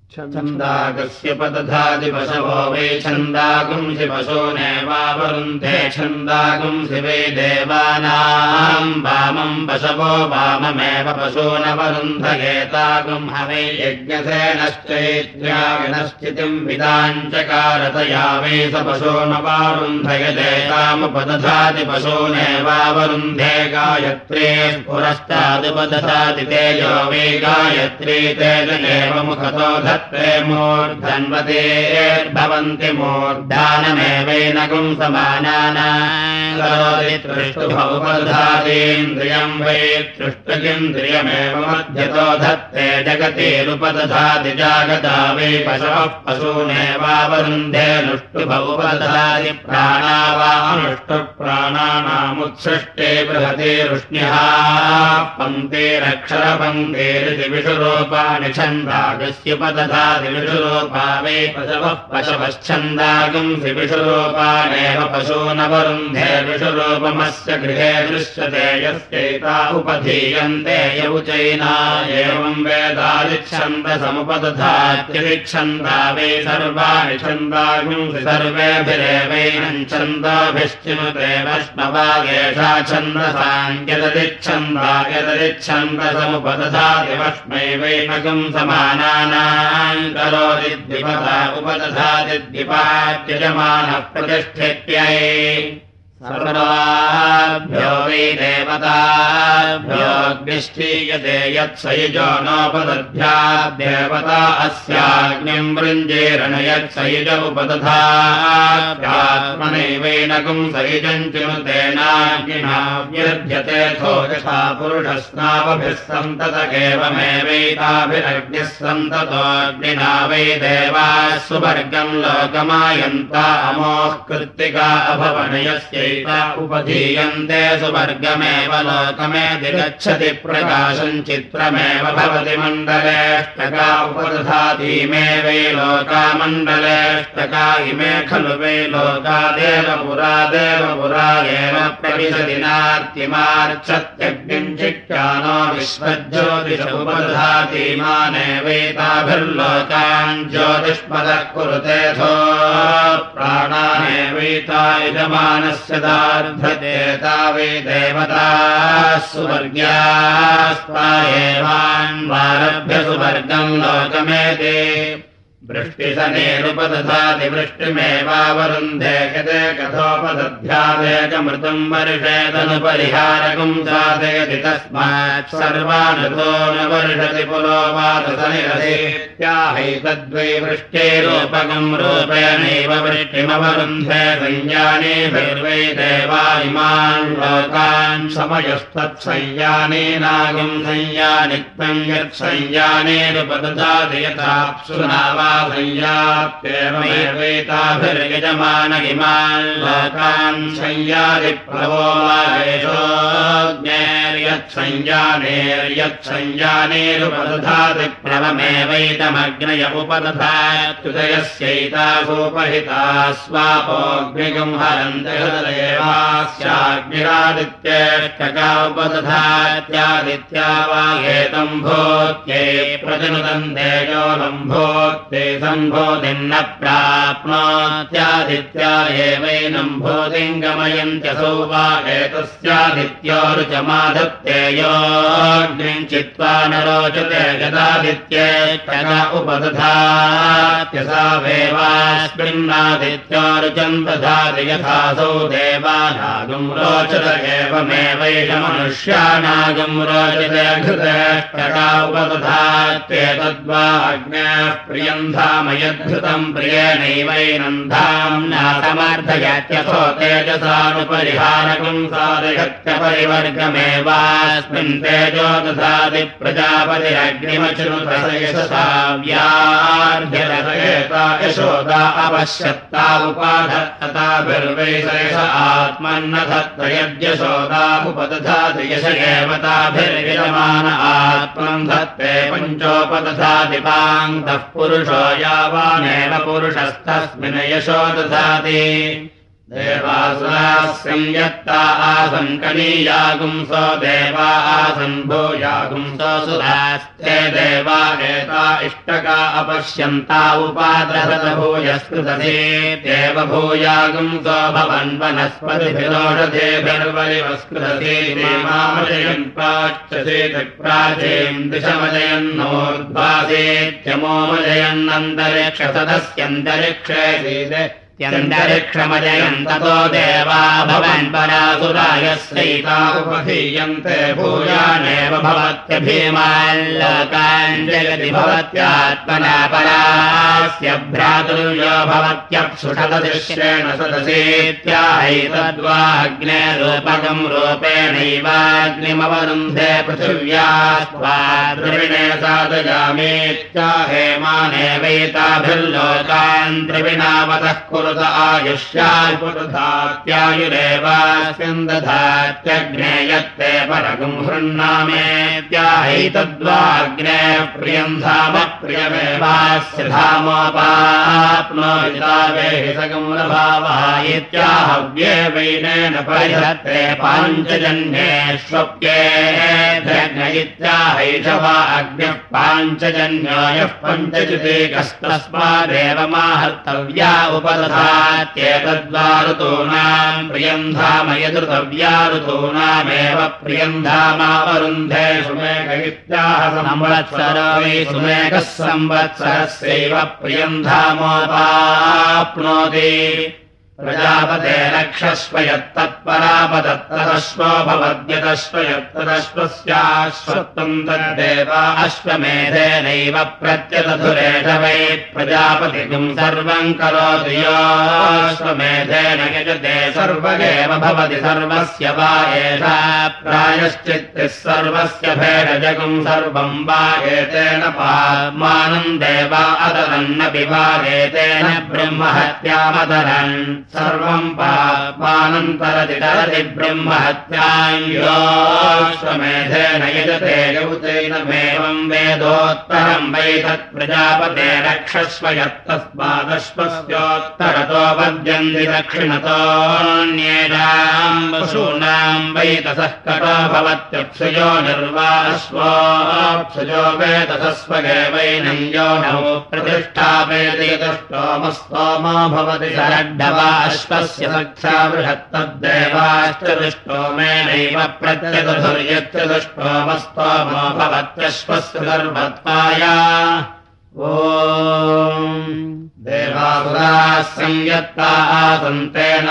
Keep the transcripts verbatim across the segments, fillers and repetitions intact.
छन्दागस्यपदधाति पशवो वै छन्दागुंसि पशूनेवावरुन्धे छन्दागुंसि वै देवानाम् वामम् पशवो वाममेव पशूनवरुन्धयेतागुम् हवै यज्ञसेनश्चैत्र्याविनश्चितिम् विदाञ्चकारतया वै स पशूनवारुन्धयदेतामुपदधाति पशूनेवावरुन्धे गायत्रे पुरस्तादुपदधाति तेजो वै गायत्री तेज एव मुखतो धत्ते मूर्धन्वतेर्भवन्ति मूर्धानमेवैनगुं समानानाम् करोति तृष्टुभौपदधातीन्द्रियम् वै तृष्टुगिन्द्रियमेव मध्यतो धत्ते जगतिरुपदधाति जागता वै पशवः पशूनेवावरुन्धे नुष्टुभौपदधाति प्राणा वानुष्टुप्राणानामुत्सृष्टे बृहते रुष्ण्यः पङ्क्तिरक्षरपङ्क्तिरिति विषुरूपाणि छन्दागस्य पदधाति विषुरूपा वै पशवः पशवश्छन्दागुंसि विषुरूपाणेव पशूनवरुन्धे विषुरूपमस्य गृहे दृश्यते यस्यैता उपधीयन्ते यौचैना एवं वेदादिच्छन्दसमुपदधात्यदिच्छन्दा वै सर्वाणि छन्दागुंसि सर्वेभिरेवैनं छन्दोभिश्चिनुते वष्णवागेषा छन्दसाङ्क्यददिच्छन्दा यददिच्छन्दसमुपदधाति वष्मै वैनगुं समानानाम् करोति द्विपदा उपदधाति द्विपात्यजमानः प्रतिष्ठित्यै सर्वाभ्यो वै देवताभ्यो अग्निष्ठीयते यत्सयुजो नोपदध्याद्देवता अस्याग्निम् वृञ्जेरण यत्सयुज उपदधात्मनैवैनगुं सयुजम् चिनुतेनाग्निना व्यर्थ्यतेऽथो यथा पुरुषस्नावभिः सन्ततकेवमेवैताभिरग्निः सन्ततोऽग्निना वै देवाः सुवर्गम् लोकमायन्ता अमोः कृत्तिका अभवनयस्यै उपधीयन्ते सुवर्गमेव लोकमेति गच्छति प्रकाशम् चित्रमेव भवति मण्डलेष्टका उपदधातीमे वै लोका मण्डलेष्टका इमे खलु वै लोका देवपुरा देवपुरा एव प्रविशति नार्तिमार्च्छत्यग्निम् चिक्कानो विश्वज्योतिष उपदधातीमानेवैताभिर्लोकान् ज्योतिष्पदः कुरुतेऽथो प्राणानेवैता यजमानस्य र्धते वै देवताः सुवर्ग्यास्ता एवान्वारभ्य सुवर्गम् लोकमेति वृष्टिसनेरुपदधाति वृष्टिमेवावरुन्धे यते कथोपदध्यादेकमृतम् वर्षेदनुपरिहारकम् साधयति तस्मात् सर्वानतो न वर्षति पुरो वातसनिरसेत्याहैतद्वै वृष्टेरूपकम् रूपेणैव वृष्टिमवरुन्धे संयानेभिर्वै देवा इमान् लोकान् समयस्तत्संयानेनागम् संयानित्वम् यत्संयानेरुपदधाति यथाप्सुनावा संयाप्येवमेवैताभिर्यजमान इमान् लोकान् संयादिप्रभो वागेशोऽग्नेर्यत्संयानेर्यत्संयानेरुपदधाति प्लवमेवैतमग्नय उपदधात्युदयस्यैतासूपहिता स्वापोऽग्निगम् हरन्ति हृदयेवास्याग्निरादित्येष्टका उपदधात्यादित्या वागेतम् भूत्यै प्रतिनुदन्ते यो लम्भोत्ते सम्भोतिन्न प्राप्नोत्यादित्या एवैनम् भूतिम् गमयन्त्यसौ वा एतस्यादित्यो रुचमाधत्ते योऽग्निम् चित्वा न रोचते गदादित्येष्टका उपदधात्यसा वेवास्मिन्नादित्यो रुचम् दधाति यथासौ देवानागम् रोचत एवमेवैष मनुष्यानागम् रोचते घृतेष्टका उपदधात्येतद्वा अग्न्याः प्रियम् धाम यद्धृतम् प्रियेणैवैनम् धाम्ना समर्थयत्यथो तेजसानुपरिहारकम् साधयत्यपरिवर्गमेवास्मिन् तेजो दधाति प्रजापतिरग्निमचनुत यशसा व्यार्ध्यरसयेता यशोदा अपश्यत्ता उपाधत्तताभिर्वै सयस आत्मन्न धत्त यद्यशोदामुपदधाति यश एव ताभिर्यजमान आत्मम् धत्ते पञ्चोपदधाति पाङ्क्तः पुरुषो यावानेव पुरुषस्तस्मिन् यशो दधाति देवासुराः संयत्ता आसन् कनीयागुंसो देवा आसन् भूयागुंसो सुरास्ते देवा एता इष्टका अपश्यन्ता उपाद्रसत भूयस्कृतसे देव भूयागुंसो भवन् वनस्पतिभिरोषधेभिर्वरिवस्कृतसे मामजयन् प्राच्यसे प्राचीम् दिशमजयन्नोर्ध्वासेत्यमोमजयन्नन्तरिक्षसदस्यन्तरिक्षे त्यन्तरिक्षमजयन् ततो देवा भवन् परासुरायस्यैता उपधीयन्ते भूयानेव भवत्यभीमाल्लोकान् जगति भवत्यात्मना परास्य भ्रातुर्यो भवत्यप्सुषदृश्येण सदसेत्याहैतद्वा अग्नेरूपकम् रूपेणैवाग्निमवरुन्धे पृथिव्या स्वा द्रविणे साधयामेत्याहेमानेवैताभिर्लोकान् द्रविणावतः आयुष्यायुरेवास्मिन् दधात्यग्ने यत्ते परगुं हृन्नामेत्याहैतद्वाग्ने प्रियम् धाम प्रियमेवास्य धामोपाप्नोहितावेहितगुं लभावः इत्याहव्ये वैनेन परिहत्ते पाञ्चजन्येष्वप्येऽध्यग्न इत्याहैषवा अग्निः पाञ्चजन्यो यः पञ्चजितेकस्तस्मादेव माहर्तव्या उपदधात्येतद्वा ऋतूनाम् प्रियम् धाम यदृतव्या ऋतूनामेव प्रियम् धामावरुन्धे सुमेघ इत्याह संवत्सरो वै सुमेघः संवत्सरस्यैव प्रियम् धामोपाप्नोति प्रजापते रक्षस्व यत्तत्परापदत्तदश्वो भवद्यदश्व यत्तदश्वस्याश्वत्वम् तद्देवा अश्वमेधेनैव प्रत्यदधुरेष वै प्रजापतिम् सर्वम् करोति योऽश्वमेधेन यजते सर्वगेव भवति सर्वस्य वा एषा प्रायश्चित्तिः सर्वस्य भेषजगुम् सर्वम् वा एतेन पामानम् देवा अदरन्नपि वा एतेन ब्रह्महत्यामदरन् सर्वम् पापानन्तरति तरति ब्रह्महत्याम् योऽश्वमेधेन यजते यौतेनमेवम् वेदोत्तरम् वै तत्प्रजापते रक्षस्व यत्तस्मादश्वस्योत्तरतो पद्यन्ति दक्षिणतोऽन्येषाम् पशूनाम् वै तसः कटो भवत्यप्सुयो निर्वाश्वोऽप्सुयो वेतसस्वगेवैनं यो नौ प्रतिष्ठापयति यतस्तोमस्तोमो भवति सरड्ढवा अश्वस्य सख्या बृहत्तद्देवाश्चतुष्टोमेनैव प्रत्यदधुर्यच्चतुष्टोमस्तोमो भवत्यश्वस्य सर्वत्वाया ॐ देवासुराः संयत्ता आसन्तेन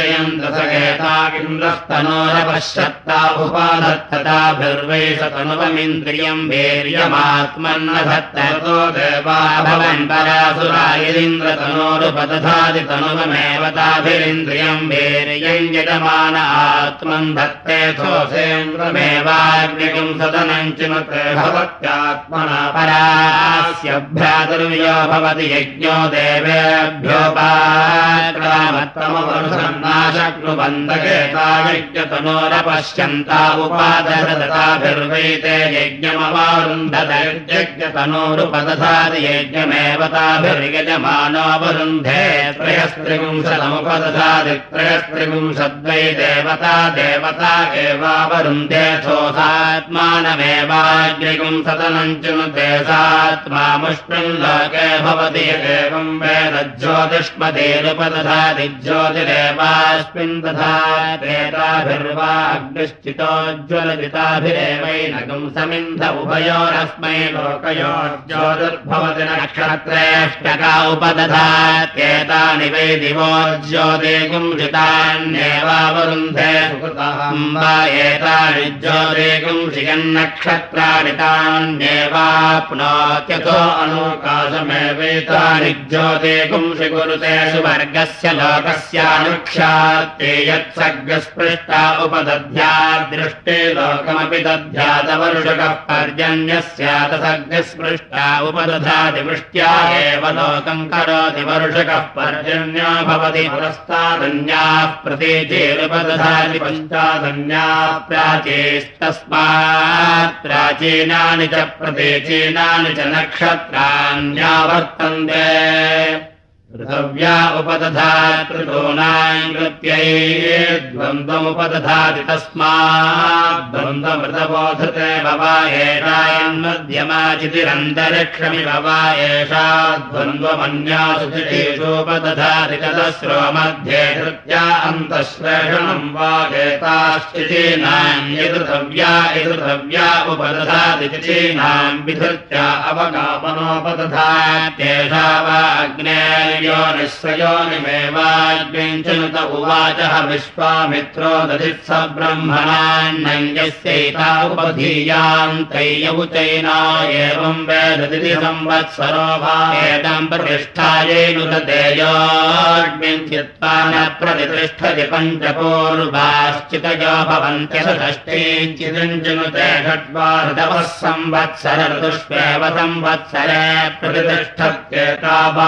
विजयन्तसगेतागिन्द्रस्तनोरपश्यत्ता उपाधत्तताभिर्वै सतनुवमिन्द्रियम् वीर्यमात्मन्नधत्ततो देवा भवन् परासुरा यदिन्द्रतनोरुपदधाति तनुवमेव ताभिरिन्द्रियम् वीर्यम् यजमान आत्मन् धत्तेऽथोऽसेन्द्रमेवाग्निकम् सदनम् चिनुते भवत्यात्मना परास्य भ्रातुर्यो भवति यज्ञो देवेभ्योपाक्रामत्तमवरुसन्नाशक्नुबन्धकेता यज्ञतनोरपश्यन्ता उपादधताभिर्वैते यज्ञमवारुन्धतैर्यज्ञतनोरुपदधाति यज्ञमेव ताभिर्यजमानोऽवरुन्धे त्रयस्त्रिपुंसदमुपदधाति त्रयस्त्रिपुंसद्वै देवता देवता एवावरुन्धे सोऽसात्मानमेवाग्निपुंसदनञ्चनुते सात्मामुष्मिन् लोके भवति एवम् वेद ज्योतिष्मतेरुपदधाति ज्योतिरेवास्मिन् दधातेताभिर्वा अग्निश्चितोज्ज्वलजिताभिरेवैनकम् समिन्ध उभयोरस्मै लोकयोर्ज्योतिर्भवति नक्षत्रेष्टका उपदधात्येतानि वै दिवोज्योतिगुंसितान्येवावरुन्धे सुकृतम् वा एतानि ज्योतिगुंसियन्नक्षत्राणि तान्येवाप्नोत्यथो अनोकाशमेवैतानि ज्योतिगुंसि कुरुते सुवर्गस्य लोकस्यानुक्षात्ते यत्सर्गस्पृष्टा उपदध्यादृष्टे लोकमपि दध्यातवर्षकः पर्जन्यस्यात सर्गस्पृष्टा उपदधाति वृष्ट्या एव लोकम् करोति वर्षकः पर्जन्यो भवति पुरस्तादन्याः प्रतीचेरुपदधाति पञ्चादन्याः प्राचीस्तस्मात् प्राचीनानि च प्रतीचीनानि च नक्षत्राण्यावर्तन्ते ऋतव्या उपदधात् ऋतूनाम् कृत्यै द्वन्द्वमुपदधाति तस्मात् द्वन्द्वमृतबोधते भवा एषान्मध्यमाचितिरन्तरिक्षमि भवा एषा द्वन्द्वमन्यासु चितीषूपदधाति चतस्रो मध्ये धृत्या अन्तःश्लेषणम् वा एताश्चितीनाम् यदृतव्या यदृतव्या उपदधाति चितीनाम् विधृत्या अवगापनोपदधात्येषा वा अग्नेर्यो निःस्वयोनिमेवाग्निञ्चनुत उवाचः विश्वामित्रो दधित्स ब्रह्मणान्नयस्यैता उपधीयाम् तैयौचैना एवम् वेददिति संवत्सरो वा एताम् प्रतिष्ठायैनुदतेयोऽग्निम् चित्वा न प्रतिष्ठति पञ्चपूर्वाश्चितयो भवन्त्यथ षष्ठीञ्चिदञ्चनुते षड्वा ऋतवः संवत्सर ऋतुष्वेव संवत्सरे प्रतिष्ठत्येता वा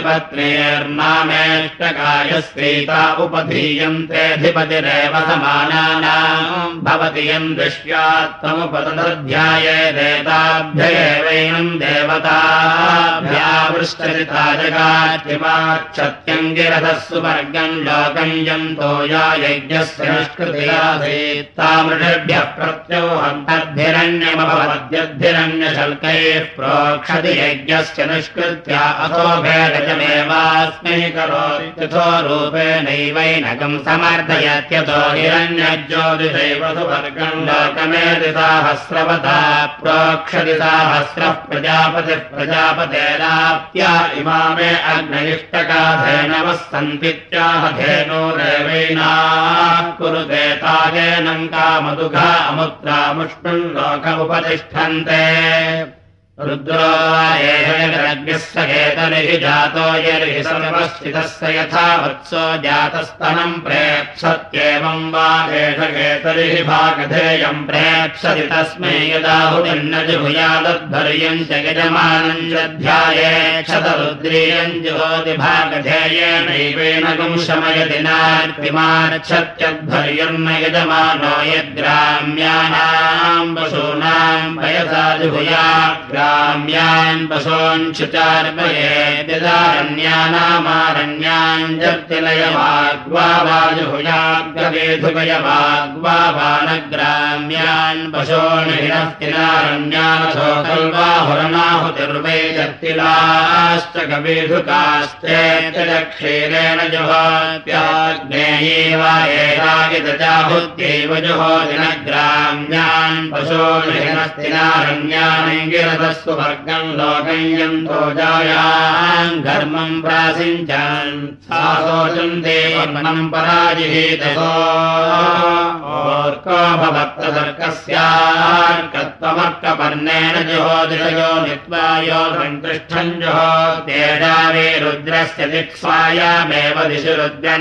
अधिपत्नेर्नामेष्टकायस्यैता उपधीयन्तेऽधिपतिरेव समानानाम् भवति यम् दृश्यात्ममुपदध्यायेदेताभ्यैवैनम् देवताभ्यावृष्टरिता जगात्रिमाक्षत्यम् गिरधः सुवर्गम् लोकम् यन्तो या यज्ञस्य निष्कृतिरासीत् तामृषभ्यः प्रत्योहम् तद्भिरण्यमभवद्यद्भिरण्यशल्कैः प्रोक्षति यज्ञस्य निष्कृत्या अथो भेदजमेवास्मै करोति तथो रूपेणैवैनकम् समर्थयत्यतो हिरण्यज्योतिषैव सुवर्गम् लोकमेति साहस्रवता प्रोक्षति साहस्रः प्रजापतिः प्रजापतेराप्त्या इमामे अग्नयिष्टकाधेनवः सन्तीत्याह धेनोरेवैनाः कुरुते तागेनम् कामदुघा अमुत्रामुष्मिन् लोक उपतिष्ठन्ते रुद्रो एषयग्रस्य केतरिः जातो यर्हि सर्वश्चितस्य यथा वत्सो जातस्तनम् प्रेप्सत्येवम् वा एष केतरिः भागधेयम् प्रेप्सति तस्मै यदाहुतिन्न जुहुयादध्वर्यम् च यजमानम् ध्यायेक्षतरुद्रीयम् जुहोति भागधेयेनैवेन गुंशमयति नार्तिमार्च्छत्यध्वर्यम् न यजमानो यद्ग्राम्याणाम् पशूनाम् वयसा जुहुयात् ग्राम्यान् पशूञ्चुचार्पयेद्यदारण्यानामारण्यान् जप्तिलयवाग्वा वाजुहुयाग्रवेधुकयवाग्वा वानग्राम्यान् पशूनिहिनस्तिनारण्यानथो कल्वाहुरनाहुतिर्वै जप्तिलाश्च कवेधुकाश्चेत्यक्षीरेण जुहोत्याग्नेयैव एतागितजाहुत्यैव जुहोदिनग्राम्यान् पशूनिहिनस्तिनारण्यान् सुवर्गम् लोकम् यन्तो जायाम् घर्मम् प्रासिञ्चान् सासोचन्ते वर्णम् पराजिहीतसोऽर्को भवत्तदर्कस्यार्कत्वमर्कपर्णेन जुहोदिषयो नित्वा यो सङ्कृष्टम् जुहोत्येषावे रुद्रस्य दिक्स्वायामेव दिशि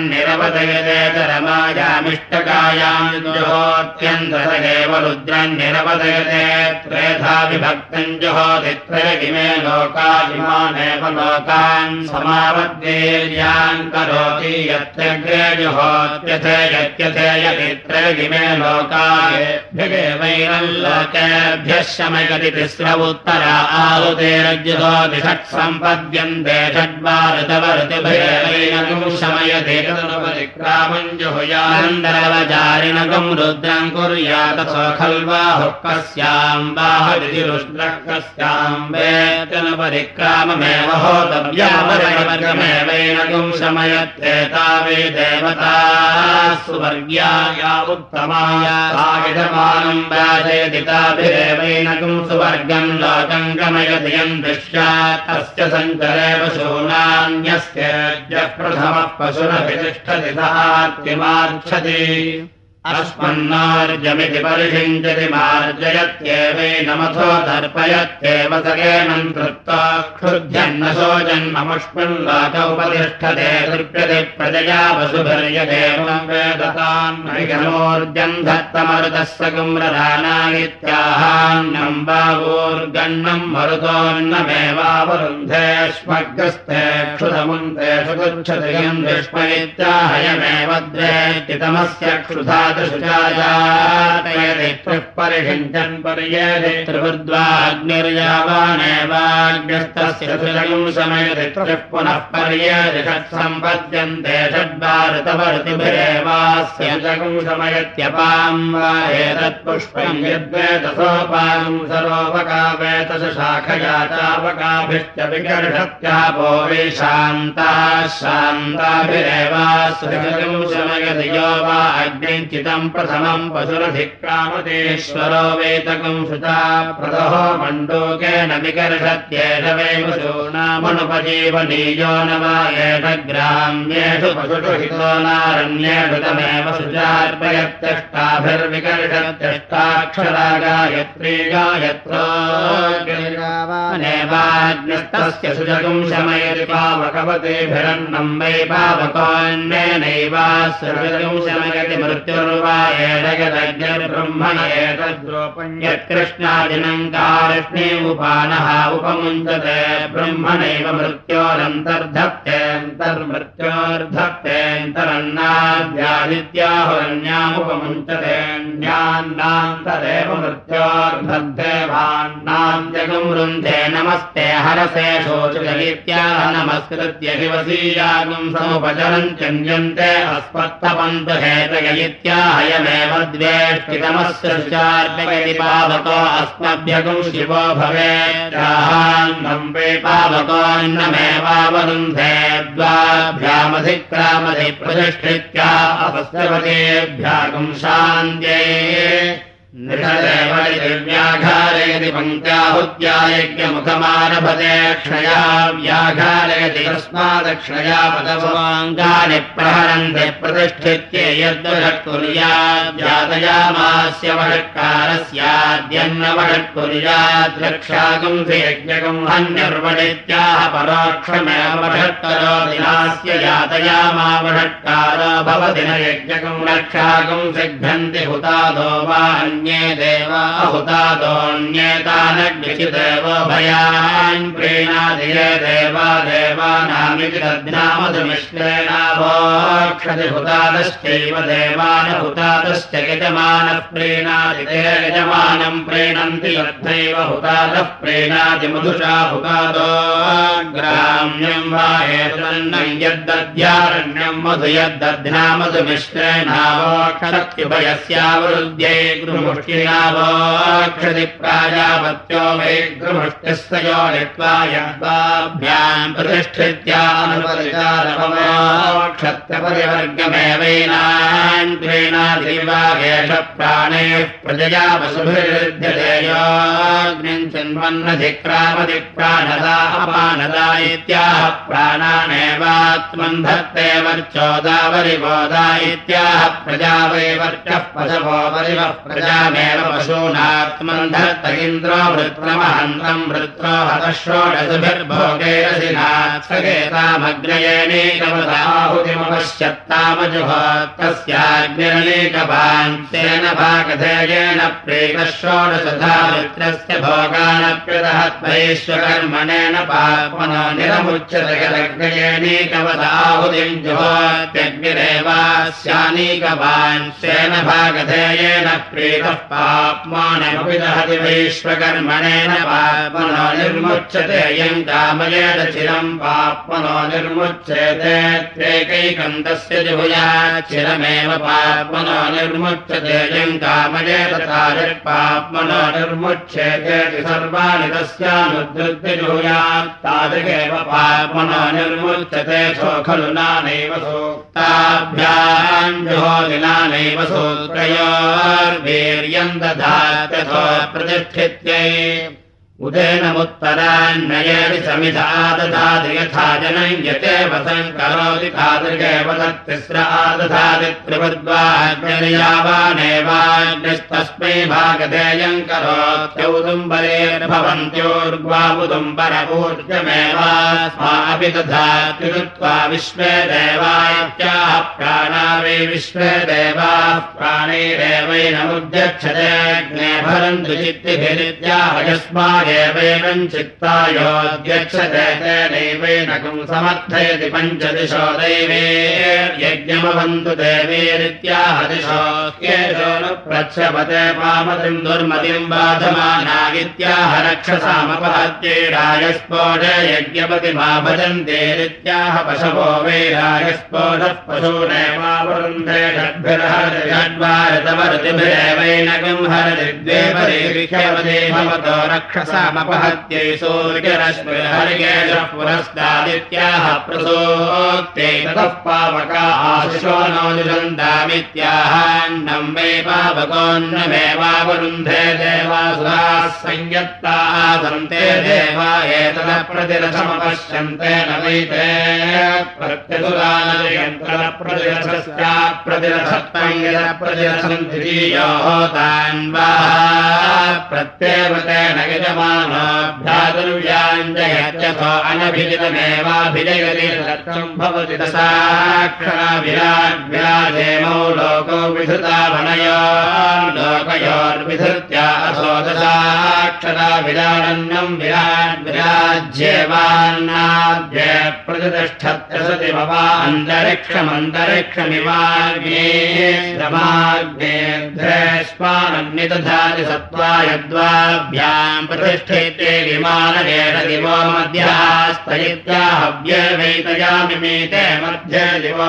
रुद्रन्निरवदयतेतरमायामिष्टकायाम् जुहोत्यन्तरेव रुद्रन्निरवदयते त्रेधा विभक्तम् जुहोदित्रयगिमे लोका इमानेव लोकान् समावद्वीर्यान् करोति यत्यग्रे जुहोत्यथे यत्यथे यदित्रयगिमे लोकाभ्यगेवैनम् लोकेभ्यः शमयति तिस्र उत्तरा आहुतेर्जुहोति षट् सम्पद्यन्ते षड्वा ऋतव ऋतुभयैनकम् शमयति तदनुपरिक्रामम् जुहुयानन्दरवचारिणकम् रुद्रम् कुर्यातसो खल्वाहुः कस्याम् बाहदिरुष्ट्रः कस्याम् वेतनुपरिक्राममेव होतव्यामरवर्गमेवैनकम् शमयत्येता वे देवताः सुवर्ग्याया उत्तमाया साविधमानम् वाजयदिताभिरेवैनकम् सुवर्गम् लोकम् गमयति यम् दृश्यात् तस्य सञ्चरे पशूनान्यस्येऽद्य प्रथमः पशुरभितिष्ठति सहार्तिमार्च्छति अस्मन्नार्जमिति परिषिञ्चति मार्जयत्येवैनमथो तर्पयत्येव सकेनम् कृत्वा क्षुध्यन्नसो जन्ममुष्मिन् लोक उपतिष्ठते तृप्यते प्रजया वसुभिर्यदेवम् वेदतान्नोर्जम् धत्तमरुतस्य कुम्रधानानित्याहान्नम् बावूर्गण्णम् मरुतोऽन्नमेवावरुन्धे श्मग्रस्ते क्षुधमुन्ते सुगच्छति यम् विष्मनित्याहयमेव द्वेष्टितमस्य क्षुधा शुचायातयति त्रिः परिषिञ्चन् पर्येति त्रिवृद्वाग्निर्यावानेवाग्निस्तस्य सुजगं शमयति त्रिः पुनः पर्येति षट्सम्पद्यन्ते षड्वाऋतवर्तिभिरेवास्य सुजगं शमयत्यपां वा एतत्पुष्पं यद्वेतसोपां सरोपकावेतस शाखया चापकाभिश्च विकर्षत्यापो विशान्ताः शान्ताभिरेवास्य सुजगं शमयति यो वा अग्निञ्चितं प्रथमं पशुरधिक्रामतेश्वरो वेतकं शुचा प्रदहो मण्डूकेन विकर्षत्येष वै पशूनामनुपजीवनीयो न वा एष ग्राम्येषु पशुषु हितो नारण्येषु तमेव शुचार्पयत्यष्टाभिर्विकर्षत्यष्टाक्षरा गायत्री गायत्रोऽग्निर्वाग्निस्तस्य सुजगं शमयति पावकवतेभिरन्नं वै पावकोऽन्येनैवास्य सुजगं शमयति मृत्युर्वा एषयदग्निर्ब्रह्मण एतद्रूपं यत्कृष्णादिनं कार्ष्णे उपानः उपमुञ्चते ब्रह्मणैव मृत्योरन्तर्धत्तेऽन्तर्मृत्योर्धत्तेऽन्तरन्नाद्यादित्याहुरन्यामुपमुञ्चतेऽन्यान्नान्तरेव मृत्योर्धत्तेवान्नां जगं वृन्धे नमस्ते हरसे शोचयित्याह नमस्कृत्य शिवसीयागं समुपचरन् चन्यन्ते अस्मत्तपन्तु हेतयित्याहयमेव द्वेष्टितमस्य शुचार्पयति पावको अस्मभ्यगं शिवो भवेत्याहान्नं वै पावकोऽन्नमेवावरुन्धे द्वाभ्यामधिक्रामधि प्रतिष्ठित्या अपस्यवतेभ्यागं शान्त्यै व्याघारयति पङ्क्त्याहुत्या यज्ञमुखमारभते क्षया व्याघारयति तस्मादक्षया पदवाङ्गानि प्रहरन्ति प्रतिष्ठित्य यद्वषट्कुर्यात् जातयामास्य वषट्कारस्याद्यन्नवषट्कुर्यात् रक्षागं यज्ञगं हन्यर्वणित्याह परोक्षमेव वषट्करोति नास्य यातयामा वषट्कारो भवति न यज्ञगं रक्षागं सिघ्नन्ति हुतादो वा अन्ये देवा हुतादोऽन्येतानग्निचिदेवो भयान् प्रीणादिये देवा देवानामिति तद्नामधुमिश्रेणावोक्षति हुतादश्चैव देवान हुतादश्च यजमानः प्रीणादि ते यजमानं प्रीणन्ति यद्धैव हुतादः प्रीणादि मधुषा हुतादो ग्राम्यं वा एतन्नं यद्दद्यारण्यं मधु यद्दध्नामधुमिश्रेणावोक्षत्युभयस्यावरुद्ध्यै मुष्टिनावोक्षति प्राजापत्यो वै गृमुष्टिस्य यो नित्वा यद्वाभ्यां प्रतिष्ठित्यानुपरिचारमोक्षत्रपरिवर्गमेवैनान् प्रीणादिवागेश प्राणैः प्रजया वसुभिर्युध्यते योऽग्निं चिन्वन्नधिक्रामधि प्राणदा अपानदा इत्याह प्राणानेवात्मन् धत्ते वर्चोदावरिवोदा इत्याह प्रजा वै वर्चः पशवो वरिवः प्रजामेव पशूनात्मन् धत्त इन्द्रो वृत्रमहन्तं वृत्रो हतः षोडशभिर्भोगैरसिनात्सगेतामग्नयेनेकवदाहुतिमपश्यत्तामजुहोत् तस्याग्निरनेकवान् तेन भागधेयेन प्रेतः षोडशधा वृत्रस्य भोगानप्यदहत्वैश्वकर्मणेन पाप्मनो निरमुच्यते यदग्नयेनेकवदाहुतिं जुहोत्यग्निरेवास्यानीकवान् तेन भागधेयेन प्रेतः पाप्मानमपि दहति वैश्वकर्मणेन पाप्मनो निर्मुच्यते यं कामयेत चिरं पाप्मनो निर्मुच्यते त्रेकैकं तस्य जुहुयात् चिरमेव पाप्मनो निर्मुच्यते यं कामयेत तादृक्पाप्मनो निर्मुच्यते सर्वाणि तस्यानुद्धृत्य जुहुयात् तादृगेव पाप्मनो निर्मुच्यते सो खलु नानैव सूक्ताभ्यां जुहोति नानैव सूत्रयोर्वीर्यं दधात्यथो प्रतिष्ठित्यै उदेनमुत्तरान्नयेति समिधा दधाति यथा जनयते वसं करोति तादृगेव तत्तिस्र आदधाति त्रिवद्वाग्निर्यावानेवाग्निस्तस्मै भागधेयं करोत्यौदुम्बरेर्भवन्त्योर्ग्वावुदुम्बरपूर्जमेवास्मापि दधाति कृत्वा विश्वे देवायत्याः प्राणा वै विश्वे देवाः प्राणैरेवैनमुद्यच्छते अग्ने भरन्तु चित्तिभिरित्याह यस्मात् एवैनं चित्तायोऽध्यक्षते तेनैवैनकं समर्थयति पञ्चदिशो दैवे यज्ञमवन्तु देवीरित्याह दिशो येषो न प्रच्छपते पामतिं दुर्मतिं बाधमाना इत्याह रक्षसामपहत्यै राजस्फोटे यज्ञपतिमा भजन्तेरित्याह पशवो वै राजस्फोटः पशूनेवावरुन्धे षड्भिर्हरतिषड्वारतवर्तिभिरेवैनकं हरति द्वे परे विख्यवते भवतो रक्षसामपहत्यै सूर्यरश्मिर्हरिकेशः पुरस्तादित्याह प्रसोक्ते ततः पावका आशिषो नो जुषन्तामित्याहान्नं वै पावकोऽन्नमेवावरुन्धे देवासुराः संयत्ताः सन्ते देवा एतदप्रतिरथमपश्यन्ते न वैते प्रत्यसुरानयन्त्रप्रतिरथस्याप्रतिरथत्वं यदप्रतिरथं द्वितीयोः तान्वाः प्रत्येव तेन यजमानोऽभ्यादुर्व्याञ्जयत्यथो अनभिजितमेवाभिजयति तत्त्वं भवति दशाक्षरा विराट् विराजेमौ लोको विधृता वनयो लोकयोर्विधृत्या असो दशाक्षरा विराडन्नं विराट् विराज्येवान्नाद्य प्रतिष्ठत्यसति मवा अन्तरिक्षमन्तरिक्षमिवाग्ने श्रमाग्नेऽध्रेष्मानन्निदधाति सत्त्वाय द्वाभ्यां प्रतिष्ठेते विमानकेन दिवो मध्यास्तयित्याहव्यवैतयामिमीते मध्ये दिवो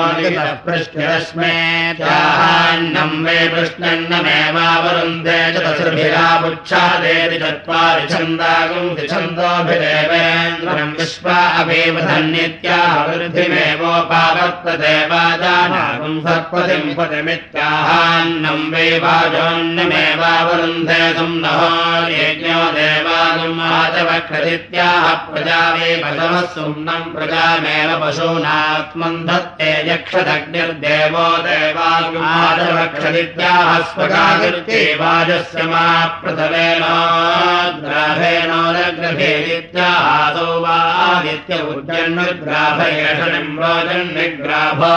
निपृष्ठरश्मेत्याहान्नं वै पृष्णन्नमेवावरुन्धे चतुर्भिरापुच्छादेति चत्वारि छन्दागुं छन्दोभिदेवेन्द्रं विश्वा अभिवधन्नित्याह वृद्धिमेवोपावर्तते वाजानागुं सर्पतिं पतिमित्याहान्नं वै वाजोन्नमेवावरुन्धे सुम्नहो यज्ञो देवागुं आचवक्षदित्याह प्रजा वै पशवः सुम्नं प्रजामेव पशूनात्मन् धत्ते यक्षदग्निर्देवो देवागुं आचवक्षदित्याह स्वगाकृत्ये वाजस्य मा प्रथमेनोग्राभेणोदग्रभेदित्याहासौ वादित्य उज्जन्नुग्राभयषनिम्रोजन्निग्राभो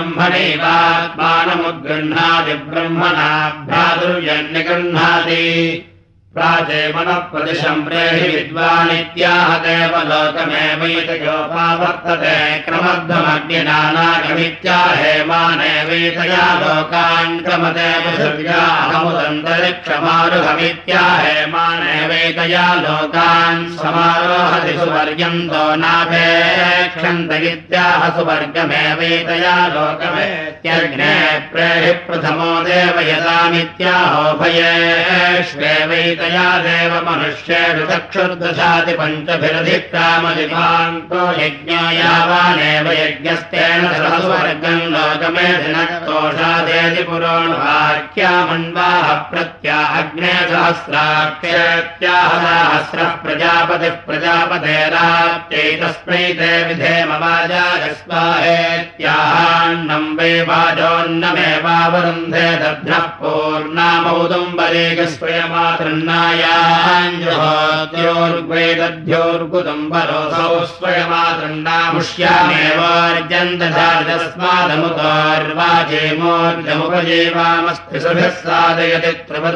ब्रह्मणैवात्मानमुद्गृह्णाति ब्रह्मणाभ्यादुर्यन्निगृह्णाति प्राचेमनः प्रदिशं प्रेहि विद्वानित्याह देवलोकमेवैतयोपावर्तते क्रमध्वमग्निनानागमित्याहेमानेवैतया लोकान् क्रमते पृथिव्या अहमुदन्तरिक्षमारुहमित्याहेमानेवैतया लोकान् समारोहति सुवर्यन्तो नाभेक्षन्त इत्याह सुवर्गमेवैतया लोकमेत्यग्ने प्रेहि प्रथमो देवयतामित्याहोभयेष्वेवैत तया देव मनुष्येषु चक्षुर्दशाति पञ्चभिरधिक्रामदिपान्तो यज्ञो यावानेव यज्ञस्तेन सहस्वर्गं लोकमेधिनक्तोषादेति पुरोणवाक्यामन्वाह प्रत्या अग्ने सहस्राक्षेत्याह सहस्रः प्रजापतिः प्रजापतेराप्त्यैतस्मै ते विधेम वाजायस्वाहेत्याहान्नं वै वाजोन्नमेवावरुन्धे दध्नः पूर्णामौदुम्बरेकस्वयमातृन्न ोर्ग्वेदध्योर्गुदुम्बरोऽसौ स्वयमातृण्डामुष्यामेवार्जन्तधारतस्मादमुतोर्वाजेमोर्जमुपजेवामस्ति सुभिः साधयति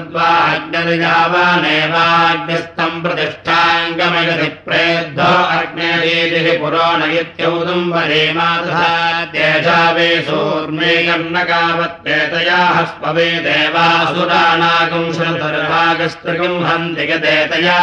त्रिवद्वाग्निर्यावानेवाग्निस्तम् प्रतिष्ठाङ्गमयति प्रेद्धो अग्नेरीतिः पुरोण इत्यौदुम्बरे मातुधा तेषा वे सूर्मे कर्णकावत्तेतया हस्पवे देवासुराणागुं श्रुतर्भागस्त्रिगुं हन्ति गदेतया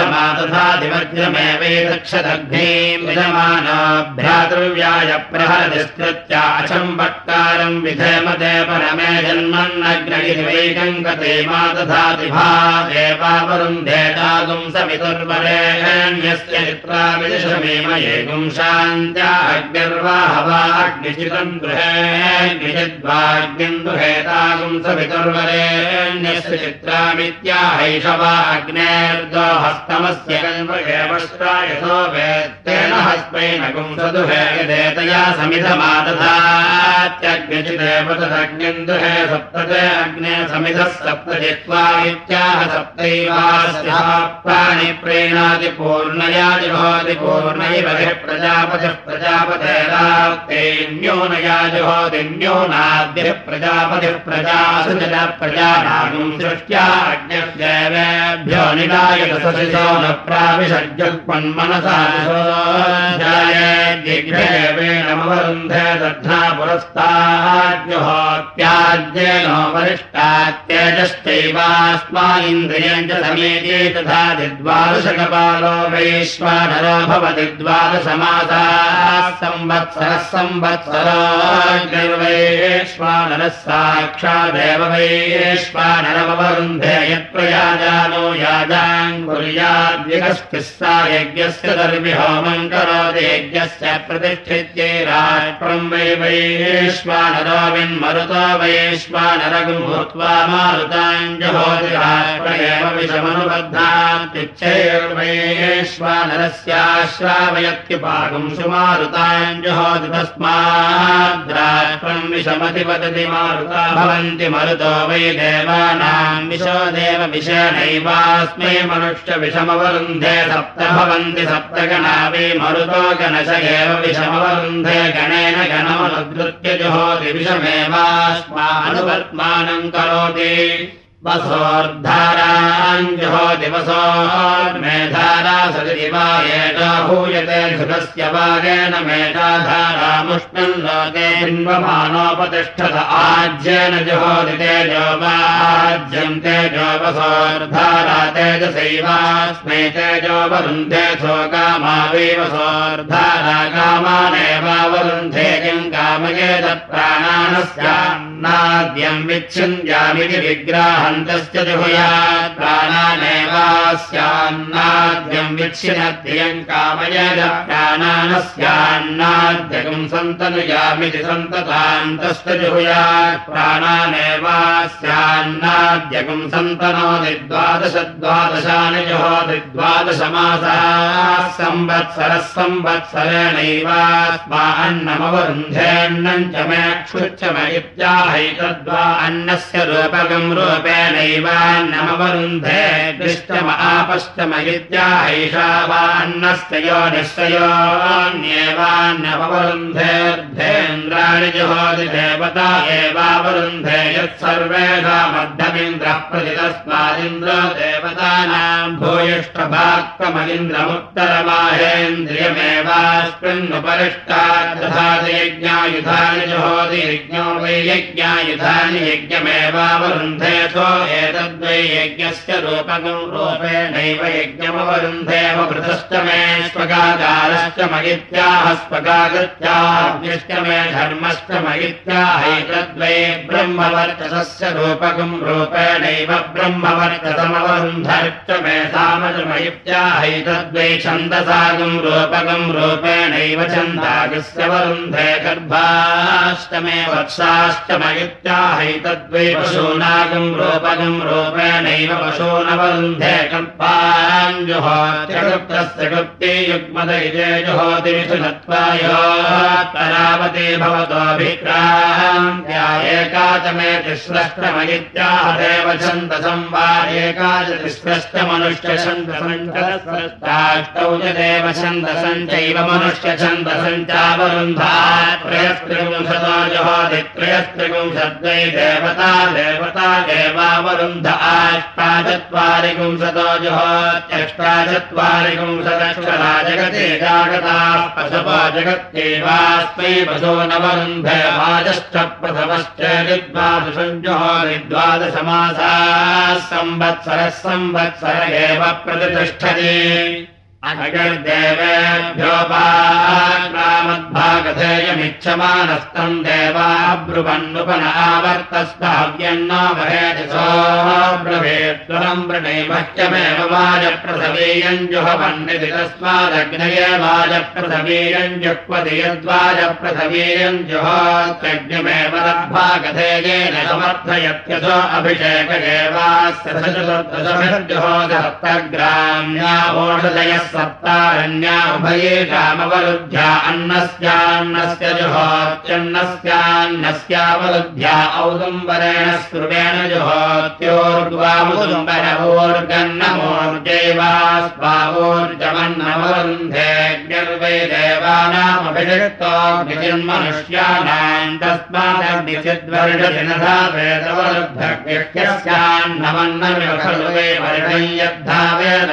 समिधमातुधादिवज्रमेवैतक्षदग्नीं विजमानाभ्यातृव्याय प्रहरतिस्तृत्या अचम्बट्कारं विधेमते परमे जन्मन्नग्नगिरिवैकं गते मातुधातिभा देवावरुन्धेतागुं समितुर्वरेण्यस्य चित्रा विदिशमेमयेगुं शान्त्या अग्निर्वाहवा अग्निचितं गृहेऽग्निचिद्वाग्निं दुहेतागुं समितुर्वरेण्यस्य चित्रामित्याहैषवा अग्नेर्दो हस्तमस्य कल्पयेवष्ट्रायसो वेत्तेन अस्मै नगुं सदुहे यदेतया समिधमादधात्यग्निचिदेव तदग्निम् दुहे सप्तते अग्ने समिधः सप्त जित्वा इत्याह सप्तैवास्य प्राणि प्रेणाति पूर्णया जुहोति पूर्णैव प्रजापतिः प्रजापतेराप्तेन्योनया जुहोति न्योनाद्यः प्रजापतिः प्रजासुजन प्रजानागुं सृष्ट्या अग्निर्देवेभ्यो निदायत सशिशो न प्राविशज्जुक्मन्मनसा दिग्भेवेणमवरुन्धे दध्ना पुरस्ताद्युहोत्याद्येनो वरिष्ठात्यजश्चैवास्मा इन्द्रियम् च समेते तथा द्वादशकपालो वैश्वानरो भवति द्वादशमासाः संवत्सरः संवत्सरो निर्वैश्वानरः साक्षादेव वैश्वानरमवरुन्धे यत्प्रयाजानो याजान् कुर्याद्विकस्तिः सा यज्ञस्य दर्विहोमम् करोति यज्ञस्य प्रतिष्ठित्यै राष्ट्रम् वै वैश्वानरो विन्मरुतो वैश्वानरगुम् भूत्वा मारुताम् जुहोति राष्ट्र एव विषमनुबद्धात्युच्चैर्वैश्वानरस्याश्रावयत्युपागुम् सुमारुताम् जुहोति तस्माद्राष्ट्रम् विषमति वदति मारुता भवन्ति मरुतो वै देवानाम् विशो देव विषेणैवास्मै मनुष्य विषमवरुन्धे सप्त भवन्ति सप्तगणा वै मरुतो गणश एव विषमवरुन्धे गणेन गणमनुद्रुत्य जुहोति विषमेवास्मानुवर्त्मानम् करोति वसोर्धाराम् जुहोति वसोर्मेधारा सदिति वा एषा भूयते धृतस्य वागेन मेधाधारामुष्णम् लोके बिन्वमानोपतिष्ठत आज्येन जुहोति तेजो वाज्यम् तेजो वसोर्धारा तेजसैवास्मै तेजो वरुन्धे सो कामा वै वसोर्धारा कामानेवावरुन्धे किम् कामयेत प्राणानस्यान्नाद्यम् विच्छिन्द्यामिति विग्राह तस्य जुहुयात् प्राणानेवास्यान्नाद्यम् विच्छिनत्ययम् कामयेत प्राणानस्यान्नाद्यकम् सन्तनुयामिति सन्तताम् तस्य जुहुयात् प्राणानेवास्यान्नाद्यकम् सन्तनोति द्वादश द्वादशानि जुहोति द्वादशमासाः संवत्सरः संवत्सरेणैवास्मा अन्नमवरुन्धेऽन्नम् च मे क्षुच्च म इत्याहैतद्वा अन्नस्य रूपकम् रूपे नैवान्नमवरुन्धे दृष्टम आपश्चम इत्याहैषा वान्नस्य योनिस्य योऽन्येवान्नमवरुन्धेऽर्धेन्द्राणि जुहोति देवता एवावरुन्धे यत्सर्वेषा मध्यमिन्द्रः प्रतितस्मादिन्द्रो देवतानाम् भूयिष्ठभाक्तमगिन्द्रमुत्तरमाहेन्द्रियमेवास्मिन्नुपरिष्टात् तथा यज्ञायुधानि जुहोति यज्ञो वै यज्ञायुधानि यज्ञमेवावरुन्धे एतद्वै यज्ञस्य रूपकम् रूपेणैव यज्ञमवरुन्धेव पृथश्च मे स्वगाकारश्च मयित्याह स्वगागत्याग्निश्च मे धर्मश्च मयित्याहैतद्वै ब्रह्मवर्चसस्य रूपकम् रूपेणैव ब्रह्मवर्चसमवरुन्धश्च मे सामज मयित्याहैतद्वै छन्दसागम् रूपकम् रूपेणैव छन्दागस्य वरुन्धे गर्भाश्च मे वत्साश्च मयित्याहैतद्वै पशूनागम् रूपकम् रूपेणैव पशूनवरुन्धे कल्पान् जुहोत्यगुप्तस्य गुप्ते युग्मदैजे जुहोति मिथुनत्वायोत्तरावती भवतोऽभिक्रान्त्या एका च मे तिस्रष्टमयित्याह देव छन्दसं वा एका च तिस्रष्ट मनुष्य छन्दसञ्चाष्टौ च देव छन्दसं चैव मनुष्य छन्दसं चावरुन्धात् त्रयस्त्रिपुंशतो जुहोति त्रयस्त्रिपुंशद्वै देवता देवता देवावरुन्ध आष्टाचत्वारिपुंशतो जुहोत्यष्टाचत्वारिपुंशदक्षरा जगते जागताः पशवो जगत्यैवास्मै पशो नवरुन्धे वाजश्च प्रथमश्च द्वादशम् जुहोति द्वादशमासाः संवत्सरः संवत्सर एव प्रतिष्ठति अगर्देवेभ्योपाग्रामद्भागधेयमिति इच्छमानस्तम् देवा ब्रुवन्नुपन आवर्तस्ताव्यन्न वहेति सोऽब्रवीत्वरम् वृणैमह्यमेव वाजप्रथवीयम् जुहवन्निति तस्मादग्नये वाजप्रथवीयम् जुह्वति यद्वाजप्रथवीयम् जुहोत्यग्निमेव लब्भागधेयेन समर्थयत्यसो अभिषेकदेवास्य सप्तग्राम्या ओषधयः सप्तारण्या उभयेषामवरुद्ध्या अन्नस्यान्नस्य जुहोत्यन्नस्यान्नस्यावरुद्ध्या औदुम्बरेण स्कृवेण जुहोत्योर्द्वामुदुम्बरवोर्गन्नमोर्जैवास्वावोर्जमन्नमवरुन्धे देवानामभिषिक्तो गिरिर्मनुष्याणाम् तस्मादग्निचिद्वर्षदिनधा वेदवरुद्धग्यस्यान्नमन्नमिव खलु वै वर्षं यद्धा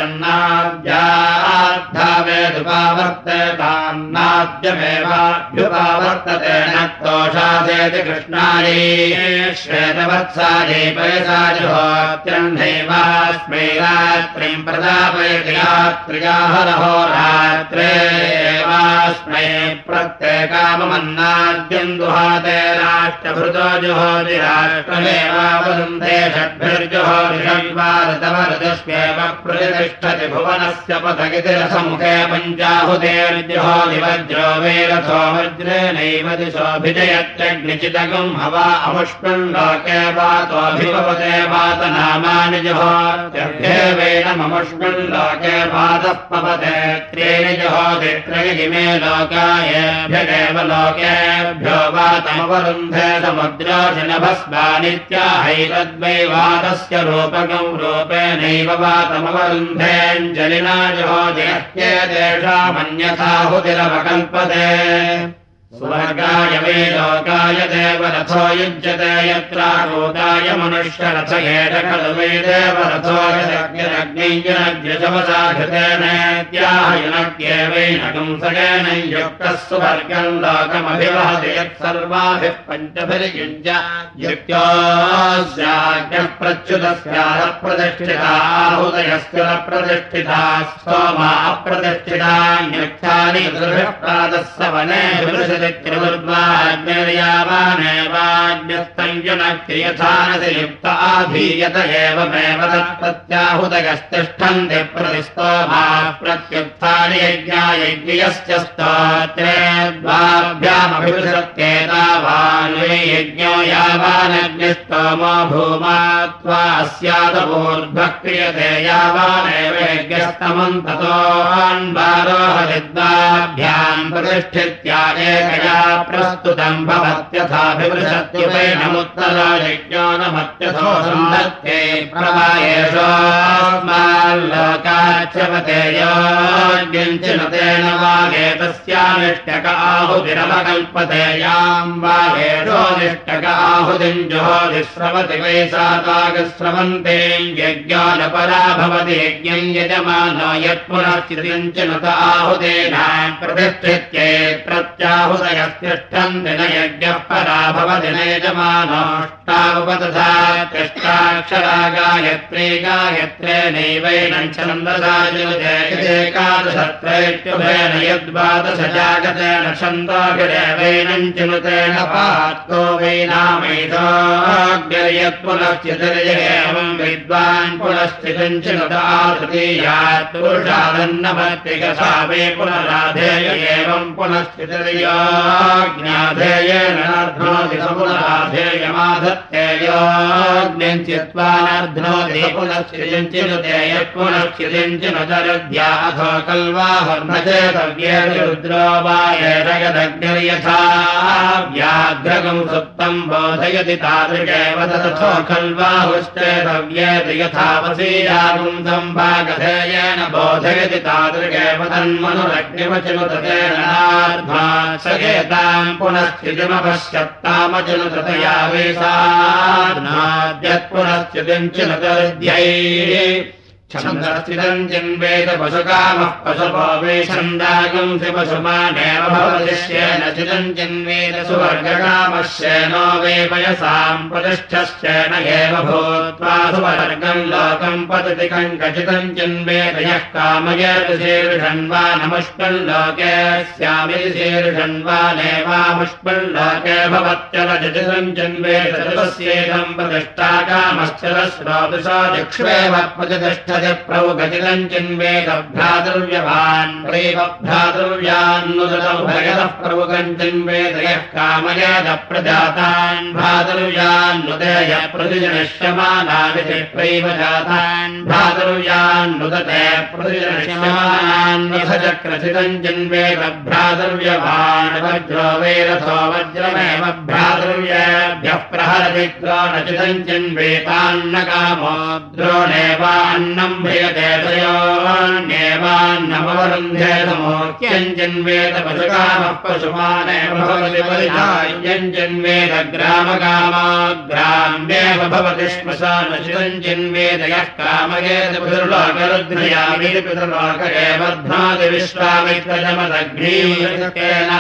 वेदन्नाद्याद्धावेदुपावर्तेतान्नाद्यमेवाभ्युपावर्तते न तोषादेति कृष्णायै श्वेतवत्सायै पयसा जुहोत्यन्धैवास्मै रात्रिं प्रदापयति रात्र्याहरहो रात्रे एवास्मै प्रत्येकाममन्नाद्यम् दुहाते राष्ट्रभृतो जुहोति राष्ट्रमेवावरुन्धे षड्भिर्जुहोति षड्वादतवरदस्येव प्रतिष्ठति भुवनस्य पथगिति रसमुखे पञ्चाहुतेर्जुहोति वज्रो वैरथो वज्रेणैव दिशोऽभिजयत्यग्निचिदगम् हवा अमुष्मिन् लोके वातोऽभिभवते वातनामानि जुहोत्यर्थेवैनममुष्मिन् लोके वातः पवते त्रीणि जुहोति त्रयिमे लोकायेभ्यगेव लोकेभ्यो वातमवरुन्धे समुद्रोषिणभस्मानित्याहैतद्वै वातस्य रूपकम् रूपेणैव वातमवरुन्धेऽञ्जलिना जुहोति ह्येतेषामन्यथाहुतिरवकल्पते स्वर्गाय वै लोकाय देवरथो युज्यते यत्राकूताय मनुष्यरथयेन खलु वै देवरथो यदग्निरग्नियुनग्निशवसा घृतेनेत्याहयुनग्येवैनकं सगेन युक्तः सुवर्गम् लोकमभिवहति यत्सर्वाभिः पञ्चभिर्युज्य युक्तोऽस्याज्ञः प्रच्युतस्याः प्रतिष्ठिता आहुतयस्य प्रतिष्ठिता स्तोमा अप्रतिष्ठिता न्युक्तानि दुर्भिः प्रातः सवने ्यवानेवाज्ञस्तञ्जुनक्रियथानसि युक्त आधीयत एवमेव तत्प्रत्याहुतयस्तिष्ठन्ति प्रतिस्तोमा प्रत्युत्थानि यज्ञायज्ञस्य स्तोत्रे द्वाभ्यामभिवृषत्येतावान् वै यज्ञो यावानग्निस्तोमो भूमा त्वा अस्यादपूर्ध्वः क्रियते यावानेव यज्ञस्तमम् ततोऽन्वारोहति द्वाभ्याम् प्रतिष्ठित्या एकया प्रस्तुतम् भवत्यथाभिवृषत्युपैनमुत्तरो यज्ञो नमत्यथो सन्धत्ते प्रवायेषोऽस्माल्लोकाच्यवते योऽग्निञ्चिनुतेन वागेतस्यानिष्टक आहुतिरवकल्पते याम् वागेषोऽनिष्टक आहुतिम् जुहोति स्रवति वै सातागस्रवन्तीम् यज्ञो न परा भवति यज्ञम् यजमानो यत्पुनश्चितिञ्चिनुत आहुतेन प्रतिष्ठित्ये प्रत्याहुतयस्तिष्ठन्ति न यज्ञः परा भवति न यजमानोष्टावुपतथा तिष्ठाक्षरा गायत्री गायत्रेणैवैनं छन्दसा चिनुतेकादशत्रैत्युभेन यद्वादश जागतेन छन्दोभिरेवैनं चिनुतेन पात्को वैनामैषोऽग्निर्यत्पुनश्चितिर्येवं विद्वान् पुनश्चितिम् चिनुत तृतीयात् पुरुषादन्नभक्तिकथा वै पुनराधेय एवं पुनश्चितिर्योऽज्ञाधेयेन नर्ध्नोति सपुनराधेयमाधत्ते योऽग्निञ्चित्वानर्ध्नोति पुनश्चितिञ्चिनुते यत्पुनश्चितिञ्चिनुतरुद्ध्या अथो कल्वाहुर्न चेतव्येति रुद्रो वा येरगदग्निर्यथा व्याघ्रगं सुप्तम् बोधयति तादृशेव तथो खल्वाहुश्चेतव्येति यथा वसीयागुम् सम्भागधेयेन बोधयति तादृशेव तन्मनुरग्निवचिनुततेन नार्ध्वा सगेताम् पुनश्चितिमपश्यत्तामचिनुततया वै साध्नाद्यत्पुनश्चितिम् चिनुतरुद्ध्यै छन्दस्थितम् चिन्वेद पशुकामः पशुपो वे छन्दागुंसि पशुमानेव भवतिश्चेन चिदम् चिन्वेद सुवर्गकामश्चेनो वे पयसाम् प्रतिष्ठश्चेन एव भूत्वा सुवर्गम् लोकम् पतति कङ्कचितम् चिन्वेद यः कामयति शीर्षन्वा नमुष्पल्लोके स्यामिति शीर्षन्वा नेवामुष्पल्लोके भवत्यलचितम् चिन्वेद तस्येदम् प्रतिष्ठा कामश्चलश्रोतुषो दिक्ष्वेव प्रतिष्ठ प्रभुगतिलम् चिन्वेद भ्रातृव्यवान् प्रेम भ्रातृव्यान्नुदतौ भगतः प्रभुगम् चिन्वेद यः कामयेद प्रजातान् भ्रातृव्यान्नुदय प्रतिजनिष्यमानादिति प्रैव जातान् भ्रातृव्यान्नुदते प्रतिजनिष्यमानान्यथ चक्रचितम् चिन्वेद भ्रातृव्यवान् वज्रो वैरथो वज्रमेव भ्रातृव्येभ्यः प्रहरति द्रोणचितम् चिन्वेतान्न कामो द्रोणेवान्न ्रियते तयोन्येवान्नमवरुन्धे समोक्यञ्जन्वेद पशुकामः पशुमानेव भवति परिधायञ्जन्वेद ग्रामकामाग्राम्येव भवति श्मशानचितञ्जन्वेद यः कामयेत पितृलोकरुद्रयामिति पितृलोक एव ध्नाति विश्वामित्रजमदग्नीकेना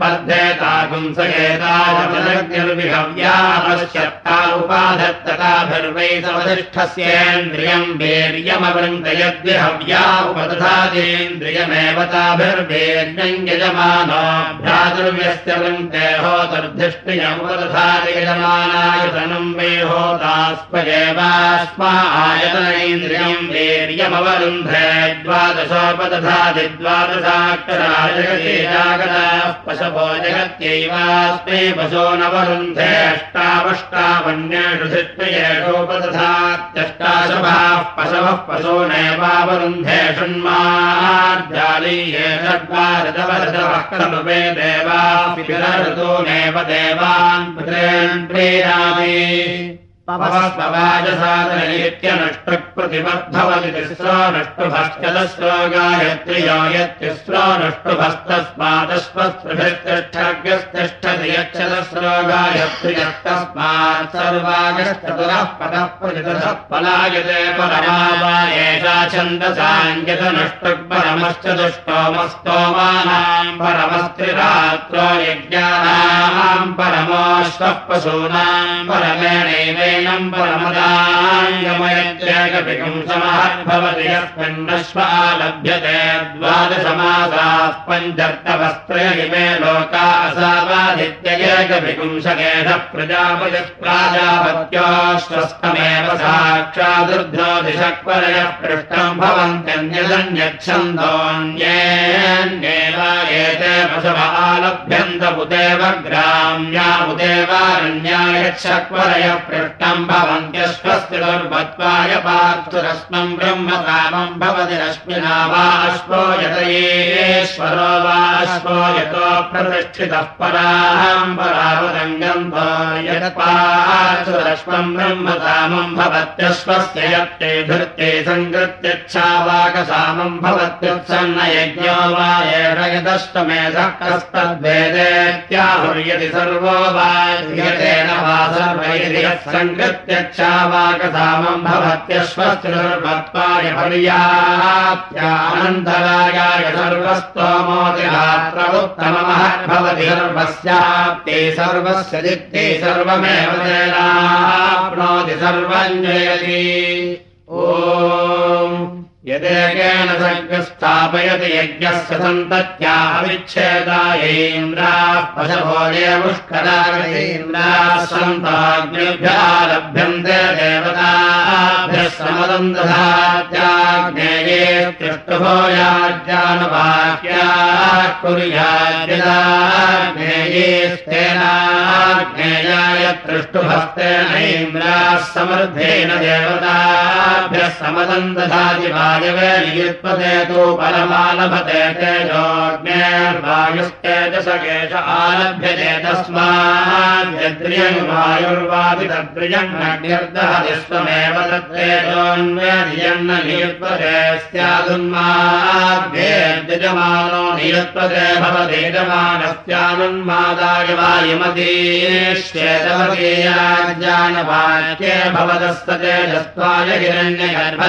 स्पर्धेतागुंसयेताजमदग्निर्विहव्यापश्यत्ता उपाधत्तताभिर्वै समधिष्ठस्येन्द्रियम् वीर्यमवृन्दयद्विहव्या उपदधातीन्द्रियमेव ताभिर्वीर्यम् यजमानो भ्रातृव्यस्य वृन्ते होतर्धिष्ठियमुपदधाति यजमानायतनम् वै होतास्पयेवास्मा आयतनेन्द्रियम् वीर्यमवरुन्धे द्वादशोपदधाति द्वादशाक्षरा जगति जागताः पशवो जगत्यैवास्मै पशो नवरुन्धे अष्टावष्टावन्येषु धिष्ठयेषोपदधात्यष्टाशभाः पशवः पशूनेवावरुन्धे षण्मार्जालीये षड्वारदवरदवः खलु वे देवाः ऋतूनेव देवान् पुत्रेन् प्रीणामि पवस्पवाजसादनैत्यनष्टप्रतिमद्भवति तिस्रो नष्टुभश्चदस्रो गायत्र्यो यत्तिस्रो नष्टुभस्तस्मादश्वस्पृभिस्तिष्ठग्यस्तिष्ठति यच्छदस्रो गायत्र्यस्तस्मात् सर्वागश्चतुरः पदः प्रतितः पलायते परमा एषा छन्दसाङ्गतनष्टुपरमश्चतुष्टोमस्तोमानाम् परमस्त्रिरात्रो यज्ञानाम् परमोऽश्वः पशूनाम् परमेणैव परमदाङ्गमयत्येकपिकम् समहद्भवति यस्मिन्नश्वा लभ्यते द्वादशमासाः पञ्चर्तवस्त्रयिमे लोका असावादित्ययेकपिकुंशकेश प्रजापतिः प्राजापत्योऽश्वस्तमेव साक्षादुर्ध्नोदिशक्वरयः पृष्टम् भवन्त्यन्यदन्यच्छन्दोऽन्येन्येव एते पशव आलभ्यन्त उदेव ग्राम्या उदेवारण्यायच्छक्वरयः पृष्टम् भवन्त्यश्वस्य दुर्भत्वाय पार्थुरश्मम् ब्रह्मकामम् भवति रश्मिना वा अश्वो यतयेश्वरो वा अश्वो यतो प्रतिष्ठितः पराहम् परावदङ्गम् यत्पार्थुरश्मम् ब्रह्मकामम् भवत्यश्वस्य यत्ते धृत्ये सङ्कृत्यच्छावाकसामम् भवत्युत्सन्न यज्ञो वा एष यदष्टमेधः कस्तद्वेदेत्याहुर्यति सर्वो वा यतेन वा सर्वैर्य सङ्कृत्यच्छावाकसामम् भवत्यश्वस्तिर्भत्वाय पर्याप्त्यानन्तरायाय सर्वस्तोमोतिरात्र उत्तममहद्भवति सर्वस्याप्ते सर्वस्य दिक्ते सर्वमेव तेनाप्नोति सर्वम् जयति ॐ यदेकेन सर्गस्थापयति यज्ञस्य सन्तत्या अविच्छेदायैन्द्राः पशवोजे मुष्करागतीन्द्राः सन्ताग्निभ्यः लभ्यन्ते देवताभ्यः समदन्दधात्याग्नेये त्युष्टुभो याज्ञानुवाक्याः कुर्याद्यदाग्नेयेस्तेनाग्नेयाय त्रिष्टुभस्तेनैन्द्राः समर्थेन देवताभ्यः समदन्दधाति वा वायवे नियुत्पते तु परमालभते तेजोऽग्नेर्वायुस्तेजसकेश आलभ्यते तस्माद्यद्रियं वायुर्वादि तद्रियं अग्निर्दहति स्वमेव तत्तेजोऽन्वेदियन्न नियुत्पते स्यादुन्माद्येद्यजमानो नियुत्पते भवति यजमानस्यानुन्मादाय वायुमतीश्चेतवतीयाज्ञानवाक्ये भवदस्ततेजस्त्वाय हिरण्यगर्भः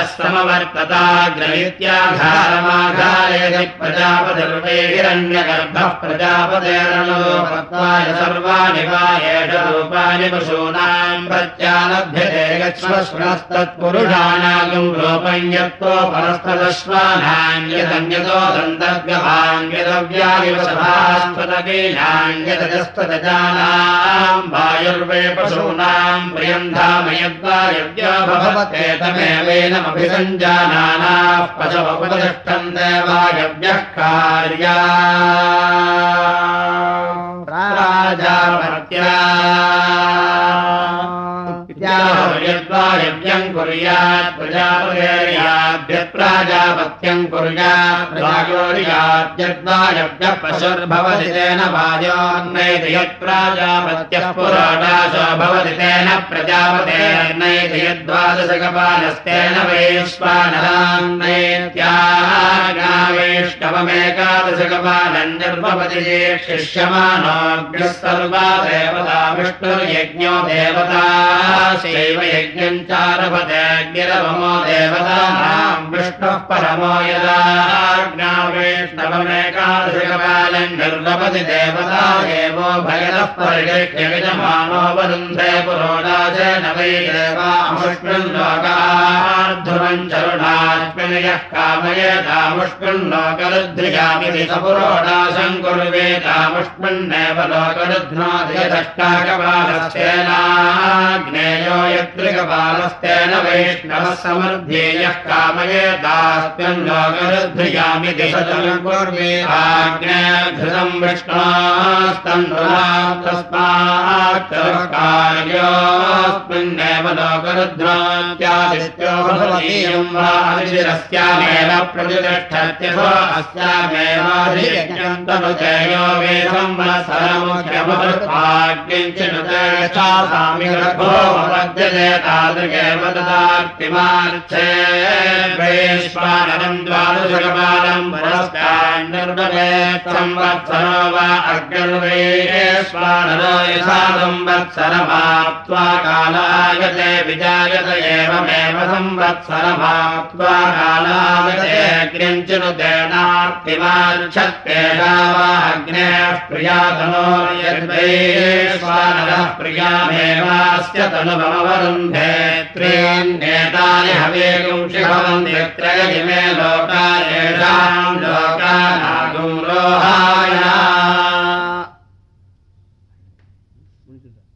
समवर्तताग्रहीत्याघारमाघारेति प्रजापतिर्वै हिरण्यगर्भः प्रजापतेरनुपत्वाय सर्वाणि वा एष रूपाणि पशूनां प्रत्यालभ्यते गच्छ्वश्वस्तत्पुरुषाणागं रूपं यत्तो परस्तदश्वानां यदन्यतो दन्तर्गभां यदव्यायव सभास्पदकीनां यदजस्तदजानां वायुर्वे पशूनां प्रियं धाम यद्वायव्या भवते तमेवेनमभिसञ्जानानाः पशवोपतिष्ठन्ते वायव्यः कार्या प्राजापत्या यद्वायव्यं कुर्यात् प्रजापतेर्याभ्यः प्राजापत्यं कुर्यात् प्रायोर्याद्यद्वायव्यः पशुर्भवति तेन वायोर्नैति यत्प्राजापत्यः पुरोडाशो भवति तेन प्रजापतेर्नैति यद्वादशकपालस्तेन वैश्वानरान्नैत्यागावैष्णवमेकादशकपालं निर्भवति ये शिष्यमानोऽग्निः सर्वा देवता विष्णुर्यज्ञो देवता शैव यज्ञं चारभतेऽग्निरवमो देवतानां विष्णुः परमो यदाज्ञावैष्णवमेकादशकपालं निर्वपति देवता एवो भयतः परिगृह्यमानो वरुन्धे पुरोडाशेन वै देवामुष्मिन्लोकार्धुरं चरुणास्मिन् यः कामयेतामुष्मिन्लोकरुद्ध्रियामिति स पुरोडाशं कुर्वेतामुष्मिन्नेव लोकरुध्नोति यदष्टाकपालस्तेना ज्ञेयो यत्रिकपालस्तेन वैष्णवः समर्थ्येयः कामयेतास्मिन् लोकरुद्ध्रियामि दिशतं कुर्वेताग्नेऽधृतं विष्णोस्तन्धुनां तस्मात् कार्योऽस्मिन्नेव लोकरुद्ध्नात्यादित्यो भवतीयं वा अधिशिरस्यामेव प्रतिष्ठत्यसो अस्यामेवाधियज्ञं तनुतेयो वेदं वनसरमुख्यमृत्वाग्निञ्चिनुते सामि गर्भो वद्यते तादृगेव ददार्तिमार्थे वैश्वानरं द्वादशकपालं पुरस्तान्निर्वपेत् संवत्सरो वा अग्निर्वैश्वानरो यथा संवत्सरमाप्त्वा कालागते विजायत एवमेव संवत्सरमाप्त्वा कालागते अग्निञ्चिनुतेनार्तिमार्च्छत्तेषा वा अग्नेः प्रियातनो यद्वैश्वानरः प्रियामेवास्य तनुभवरुन्धे त्रीन्नेतानि हवेगुंषि भवन्ति त्रयमिमे लोका येषां लोकानागुं रोहाय